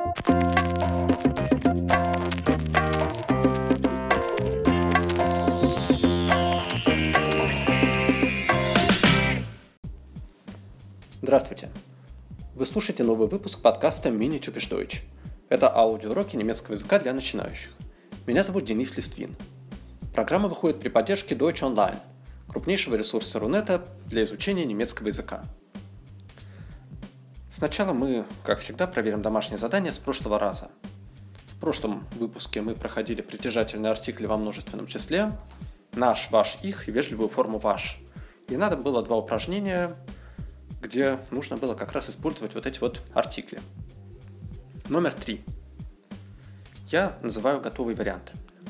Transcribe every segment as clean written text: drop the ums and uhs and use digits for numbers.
Здравствуйте! Вы слушаете новый выпуск подкаста Mini Typisch Deutsch. Это аудиоуроки немецкого языка для начинающих. Меня зовут Денис Листвин. Программа выходит при поддержке Deutsch Online, крупнейшего ресурса Рунета для изучения немецкого языка. Сначала мы, как всегда, проверим домашнее задание с прошлого раза. В прошлом выпуске мы проходили притяжательные артикли во множественном числе, наш, ваш, их и вежливую форму ваш. И надо было 2 упражнения, где нужно было как раз использовать вот эти вот артикли. Номер 3. Я называю готовые варианты.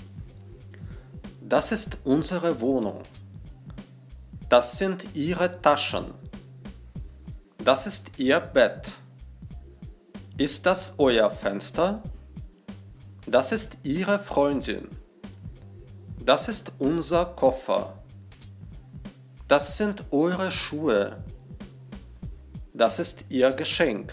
Das ist unsere Wohnung. Das sind ihre Taschen. Das ist ihr Bett. Ist das euer Fenster? Das ist ihre Freundin. Das ist unser Koffer. Das sind eure Schuhe. Das ist ihr Geschenk.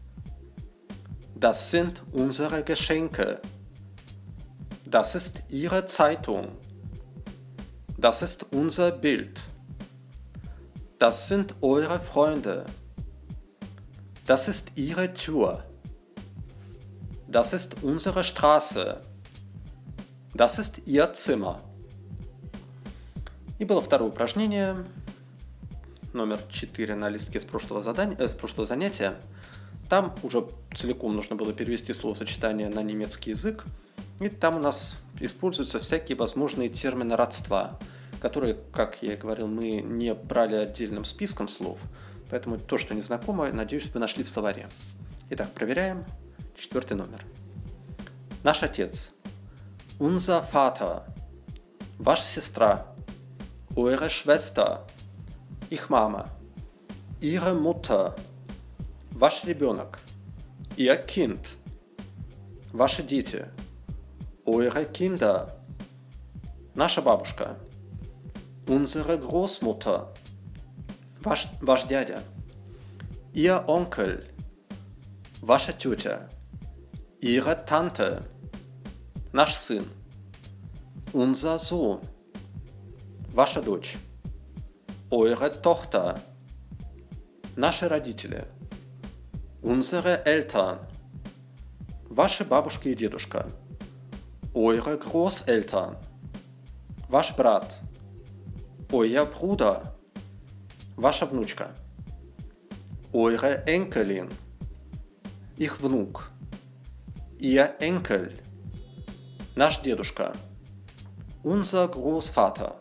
Das sind unsere Geschenke. Das ist ihre Zeitung. Das ist unser Bild. Das sind eure Freunde. Das ist ihre Tür. Das ist unsere Straße. Das ist ihr Zimmer. И было второе упражнение, номер 4 на листке с прошлого занятия. Там уже целиком нужно было перевести словосочетание на немецкий язык. И там у нас используются всякие возможные термины родства, которые, как я и говорил, мы не брали отдельным списком слов. Поэтому то, что незнакомо, надеюсь, вы нашли в словаре. Итак, проверяем 4 номер. Наш отец. Unser Vater. Ваша сестра. Eure Schwester. Их мама. Ihre Mutter. Ваш ребенок. Ihr Kind. Ваши дети. Eure Kinder. Наша бабушка. Unsere Großmutter. Ваш дядя. Ihr Onkel. Ваша тетя. Ihre Tante. Наш сын. Unser Sohn. Ваша дочь. Eure Tochter. Наши родители. Unsere Eltern. Ваши бабушка и дедушка. Eure Großeltern. Ваш брат. Euer Bruder. Ваша внучка. Eure Enkelin. Их внук. Ihr Enkel. Наш дедушка. Unser Großvater.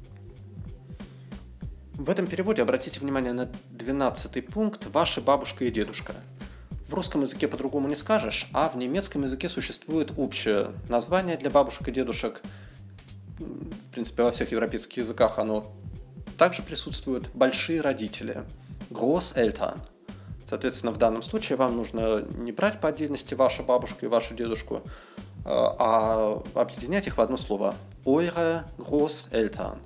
В этом переводе обратите внимание на 12-й пункт «Ваша бабушка и дедушка». В русском языке по-другому не скажешь, а в немецком языке существует общее название для бабушек и дедушек. В принципе, во всех европейских языках оно также присутствует. Большие родители. Großeltern. Соответственно, в данном случае вам нужно не брать по отдельности вашу бабушку и вашу дедушку, а объединять их в одно слово. Eure Großeltern.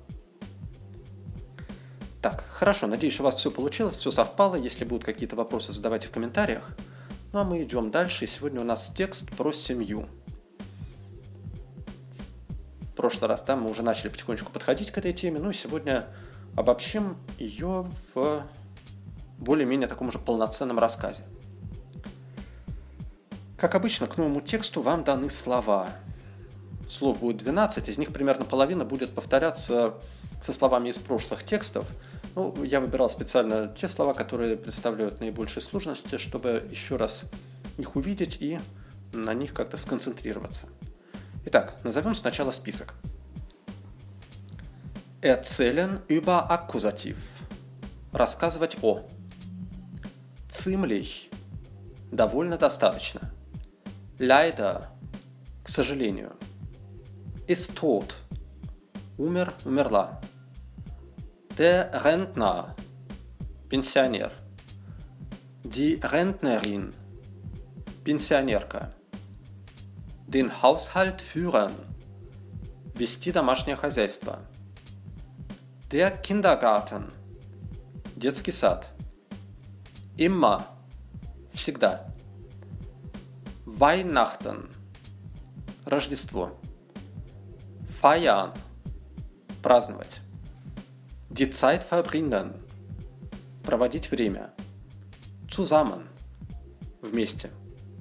Так, хорошо, надеюсь, у вас все получилось, все совпало. Если будут какие-то вопросы, задавайте в комментариях. Ну а мы идем дальше, и сегодня у нас текст про семью. В прошлый раз мы уже начали потихонечку подходить к этой теме, ну и сегодня обобщим ее в более-менее таком уже полноценном рассказе. Как обычно, к новому тексту вам даны слова. Слов будет 12, из них примерно половина будет повторяться со словами из прошлых текстов. Ну, я выбирал специально те слова, которые представляют наибольшие сложности, чтобы еще раз их увидеть и на них как-то сконцентрироваться. Итак, назовем сначала список. Erzählen über Akkusativ. Рассказывать о. Ziemlich. Довольно достаточно. Leider. К сожалению. Ist tot. Умер, умерла. Der Rentner. Пенсионер. Die Rentnerin. Пенсионерка. Den Haushalt führen. Вести домашнее хозяйство. Der Kindergarten. Детский сад. Immer. Всегда. Weihnachten – Рождество. Feiern – праздновать. Die Zeit verbringen – проводить время. Zusammen – вместе.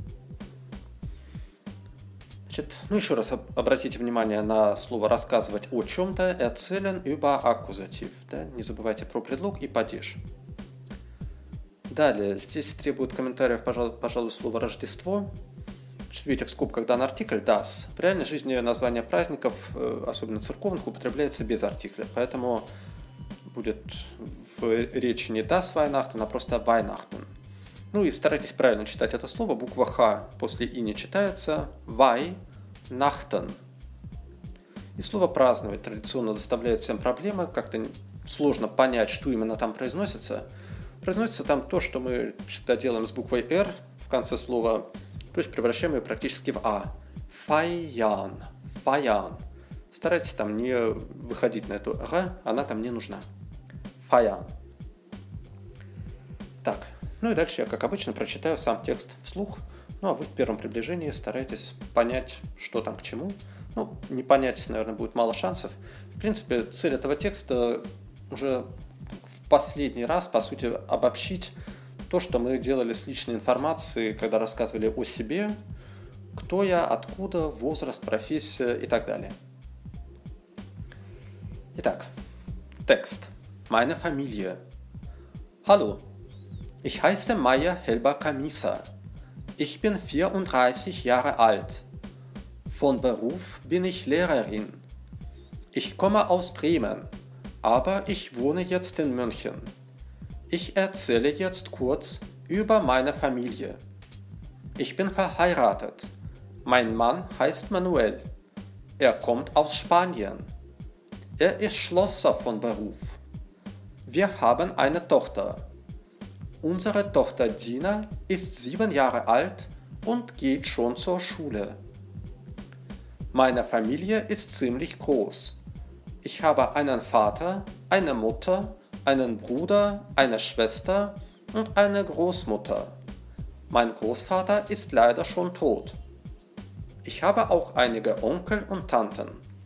Значит, еще раз обратите внимание на слово «рассказывать о чем-то» erzählen über Akkusativ. Да? Не забывайте про предлог и падеж. Далее, здесь требует комментариев, пожалуй, слово «Рождество». Видите, в скобках дан артикль das. В реальной жизни название праздников, особенно церковных, употребляется без артикля. Поэтому будет в речи не das Weihnachten, а просто Weihnachten. Ну и старайтесь правильно читать это слово. Буква Х после И не читается. Weihnachten. И слово «праздновать» традиционно доставляет всем проблемы. Как-то сложно понять, что именно там произносится. Произносится там то, что мы всегда делаем с буквой «Р» в конце слова, то есть превращаем ее практически в «А». Feiern. Feiern. Старайтесь там не выходить на эту «Р», она там не нужна. Feiern. Так, ну и дальше я, как обычно, прочитаю сам текст вслух. Ну а вы в первом приближении старайтесь понять, что там к чему. Ну, не понять, наверное, будет мало шансов. В принципе, цель этого текста уже в последний раз, по сути, обобщить то, что мы делали с личной информацией, когда рассказывали о себе, кто я, откуда, возраст, профессия и так далее. Итак, текст. Meine Familie. Hallo, ich heiße Maya Helber-Kamisa. Ich bin 34 Jahre alt. Von Beruf bin ich Lehrerin. Ich komme aus Bremen, aber ich wohne jetzt in München. Ich erzähle jetzt kurz über meine Familie. Ich bin verheiratet. Mein Mann heißt Manuel. Er kommt aus Spanien. Er ist Schlosser von Beruf. Wir haben eine Tochter. Unsere Tochter Dina ist 7 Jahre alt und geht schon zur Schule. Meine Familie ist ziemlich groß. Ich habe einen Vater, eine Mutter, einen Bruder, eine Schwester und eine Großmutter. Mein Großvater ist leider schon tot. Ich habe auch einige Onkel und Tanten.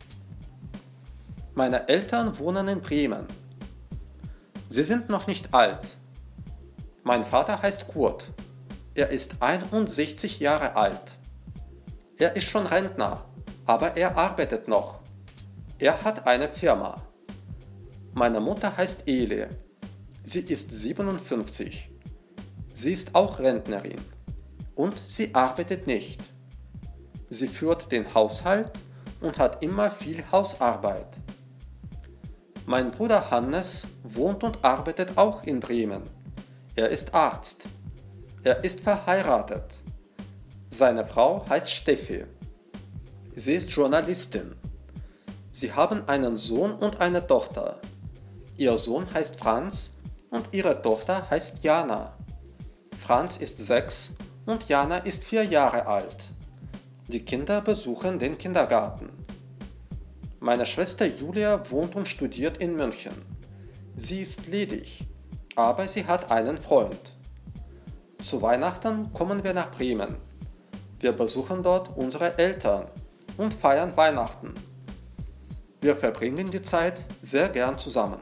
Meine Eltern wohnen in Bremen. Sie sind noch nicht alt. Mein Vater heißt Kurt. Er ist 61 Jahre alt. Er ist schon Rentner, aber er arbeitet noch. Er hat eine Firma. Meine Mutter heißt Ele. Sie ist 57. Sie ist auch Rentnerin. Und sie arbeitet nicht. Sie führt den Haushalt und hat immer viel Hausarbeit. Mein Bruder Hannes wohnt und arbeitet auch in Bremen. Er ist Arzt. Er ist verheiratet. Seine Frau heißt Steffi. Sie ist Journalistin. Sie haben einen Sohn und eine Tochter. Ihr Sohn heißt Franz und ihre Tochter heißt Jana. Franz ist 6 und Jana ist 4 Jahre alt. Die Kinder besuchen den Kindergarten. Meine Schwester Julia wohnt und studiert in München. Sie ist ledig, aber sie hat einen Freund. Zu Weihnachten kommen wir nach Bremen. Wir besuchen dort unsere Eltern und feiern Weihnachten. Wir verbringen die Zeit sehr gern zusammen.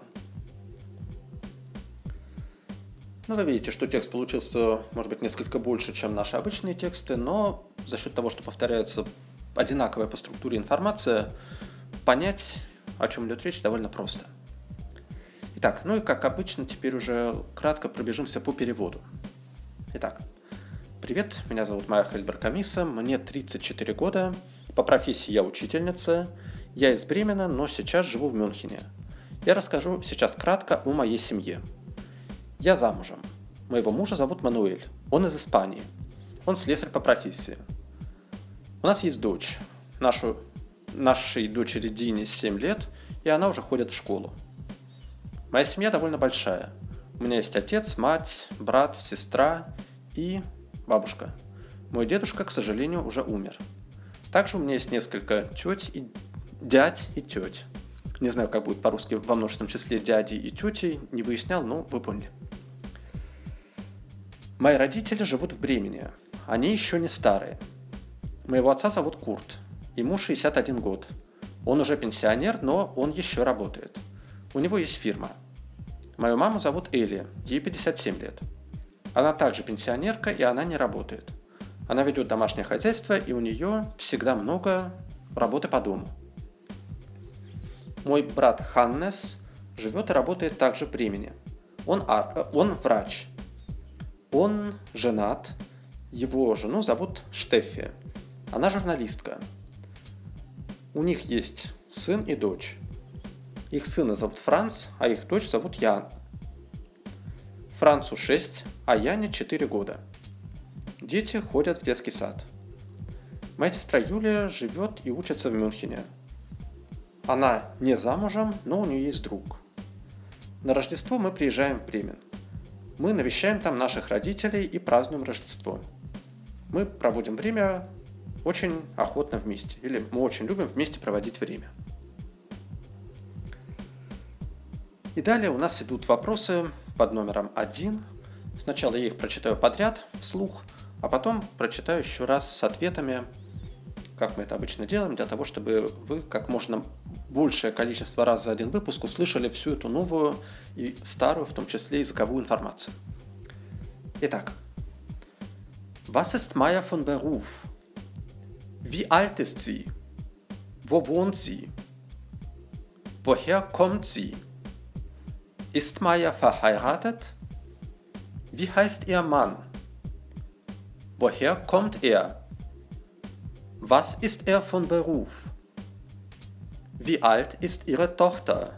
Ну, вы видите, что текст получился, может быть, несколько больше, чем наши обычные тексты, но за счет того, что повторяется одинаковая по структуре информация, понять, о чем идет речь, довольно просто. Итак, ну и как обычно, теперь уже кратко пробежимся по переводу. Итак, привет, меня зовут Майя Хельбер-Камиса, мне 34 года, по профессии я учительница, я из Бремена, но сейчас живу в Мюнхене. Я расскажу сейчас кратко о моей семье. Я замужем. Моего мужа зовут Мануэль. Он из Испании. Он слесарь по профессии. У нас есть дочь. Нашей дочери Дине 7 лет, и она уже ходит в школу. Моя семья довольно большая. У меня есть отец, мать, брат, сестра и бабушка. Мой дедушка, к сожалению, уже умер. Также у меня есть несколько дядь и теть. Не знаю, как будет по-русски во множественном числе дяди и тети, не выяснял, но вы поняли. Мои родители живут в Бремене. Они еще не старые. Моего отца зовут Курт. Ему 61 год. Он уже пенсионер, но он еще работает. У него есть фирма. Мою маму зовут Элли, ей 57 лет. Она также пенсионерка, и она не работает. Она ведет домашнее хозяйство, и у нее всегда много работы по дому. Мой брат Ханнес живет и работает также в Бремене. Он врач. Он женат. Его жену зовут Штеффи. Она журналистка. У них есть сын и дочь. Их сына зовут Франц, а их дочь зовут Ян. Францу 6, а Яне 4 года. Дети ходят в детский сад. Моя сестра Юлия живет и учится в Мюнхене. Она не замужем, но у нее есть друг. На Рождество мы приезжаем в Бремен. Мы навещаем там наших родителей и празднуем Рождество. Мы проводим время очень охотно вместе, или мы очень любим вместе проводить время. И далее у нас идут вопросы под номером 1. Сначала я их прочитаю подряд, вслух, а потом прочитаю еще раз с ответами, как мы это обычно делаем, для того, чтобы вы как можно большее количество раз за один выпуск услышали всю эту новую и старую, в том числе языковую информацию. Итак. Was ist Maya von Beruf? Wie alt ist sie? Wo wohnt sie? Woher kommt sie? Ist Maya verheiratet? Wie heißt ihr Mann? Woher kommt er? Was ist er von Beruf? Wie alt ist ihre Tochter?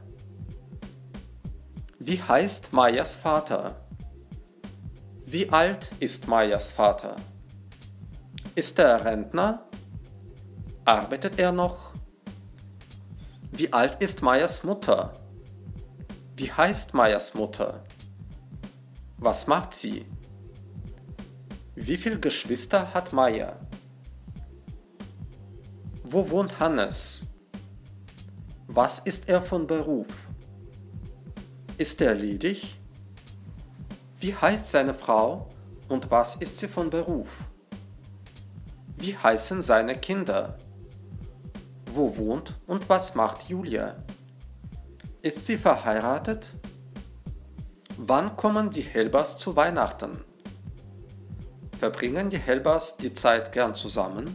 Wie heißt Mayas Vater? Wie alt ist Mayas Vater? Ist er Rentner? Arbeitet er noch? Wie alt ist Mayas Mutter? Wie heißt Mayas Mutter? Was macht sie? Wie viele Geschwister hat Maya? Wo wohnt Hannes? Was ist er von Beruf? Ist er ledig? Wie heißt seine Frau und was ist sie von Beruf? Wie heißen seine Kinder? Wo wohnt und was macht Julia? Ist sie verheiratet? Wann kommen die Helbers zu Weihnachten? Verbringen die Helbers die Zeit gern zusammen?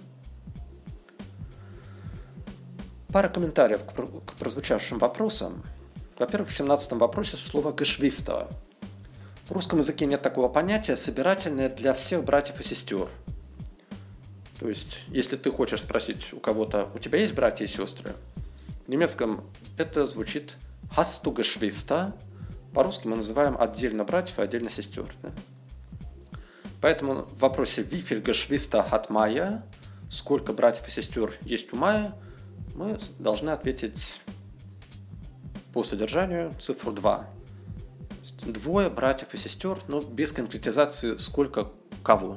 Пара комментариев к прозвучавшим вопросам. Во-первых, в 17 вопросе слово «geschwister». В русском языке нет такого понятия «собирательное для всех братьев и сестер». То есть, если ты хочешь спросить у кого-то, у тебя есть братья и сестры? В немецком это звучит «hast du Geschwister?». По-русски мы называем отдельно братьев и отдельно сестер. Да? Поэтому в вопросе «Wie viel Geschwister hat Maya?», сколько братьев и сестер есть у Майи, мы должны ответить по содержанию цифру 2. Двое братьев и сестер, но без конкретизации сколько кого.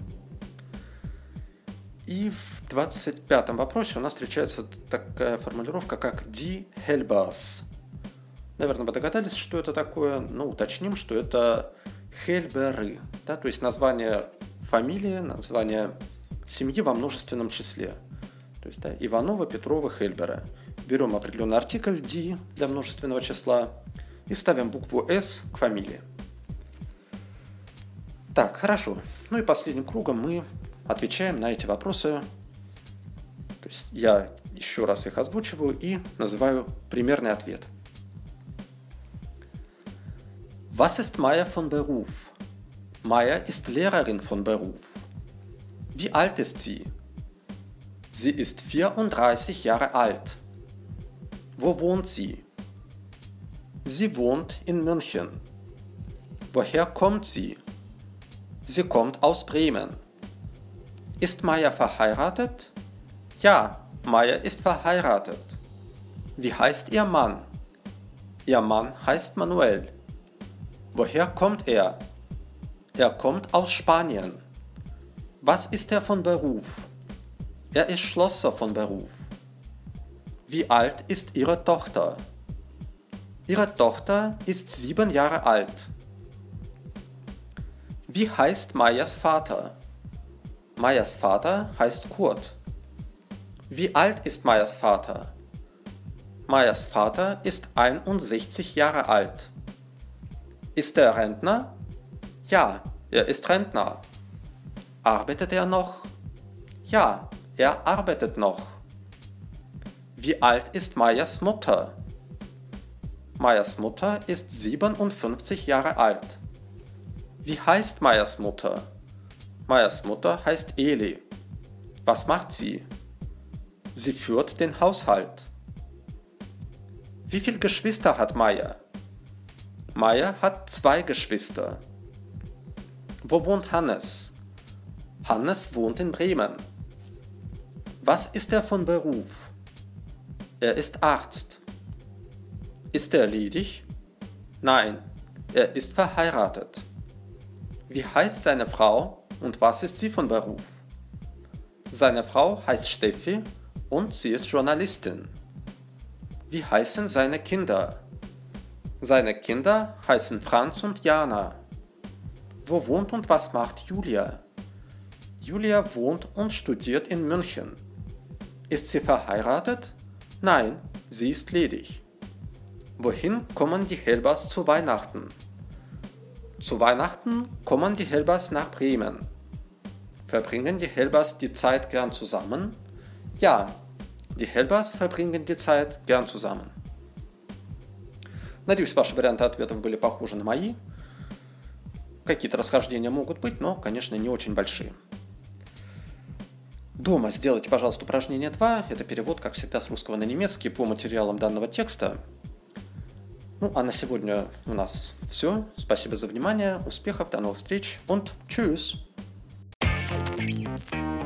И в 25-м вопросе у нас встречается такая формулировка, как die Helbers. Наверное, вы догадались, что это такое, но уточним, что это Хельберы, да, то есть название фамилии, название семьи во множественном числе. То есть, да, Иванова, Петрова, Хельбера. Берем определенный артикль die для множественного числа и ставим букву S к фамилии. Так, хорошо. Ну и последним кругом мы отвечаем на эти вопросы. То есть я еще раз их озвучиваю и называю примерный ответ. Was ist Maya von Beruf? Maya ist Lehrerin von Beruf. Wie alt ist sie? Sie ist 34 Jahre alt. Wo wohnt sie? Sie wohnt in München. Woher kommt sie? Sie kommt aus Bremen. Ist Maya verheiratet? Ja, Maya ist verheiratet. Wie heißt ihr Mann? Ihr Mann heißt Manuel. Woher kommt er? Er kommt aus Spanien. Was ist er von Beruf? Er ist Schlosser von Beruf. Wie alt ist Ihre Tochter? Ihre Tochter ist 7 Jahre alt. Wie heißt Mayas Vater? Mayas Vater heißt Kurt. Wie alt ist Mayas Vater? Mayas Vater ist 61 Jahre alt. Ist er Rentner? Ja, er ist Rentner. Arbeitet er noch? Ja, er arbeitet noch. Wie alt ist Mayas Mutter? Mayas Mutter ist 57 Jahre alt. Wie heißt Mayas Mutter? Mayas Mutter heißt Eli. Was macht sie? Sie führt den Haushalt. Wie viele Geschwister hat Maya? Maya hat 2 Geschwister. Wo wohnt Hannes? Hannes wohnt in Bremen. Was ist er von Beruf? Er ist Arzt. Ist er ledig? Nein, er ist verheiratet. Wie heißt seine Frau und was ist sie von Beruf? Seine Frau heißt Steffi und sie ist Journalistin. Wie heißen seine Kinder? Seine Kinder heißen Franz und Jana. Wo wohnt und was macht Julia? Julia wohnt und studiert in München. Ist sie verheiratet? Nein, sie ist ledig. Wohin kommen die Helbers zu Weihnachten? Zu Weihnachten kommen die Helbers nach Bremen. Verbringen die Helbers die Zeit gern zusammen? Ja, die Helbers verbringen die Zeit gern zusammen. Надеюсь, ваши варианты ответов были похожи на мои. Какие-то расхождения могут быть, но, конечно, не очень большие. Дома сделайте, пожалуйста, упражнение 2. Это перевод, как всегда, с русского на немецкий по материалам данного текста. Ну, а на сегодня у нас все. Спасибо за внимание, успехов, до новых встреч und tschüss!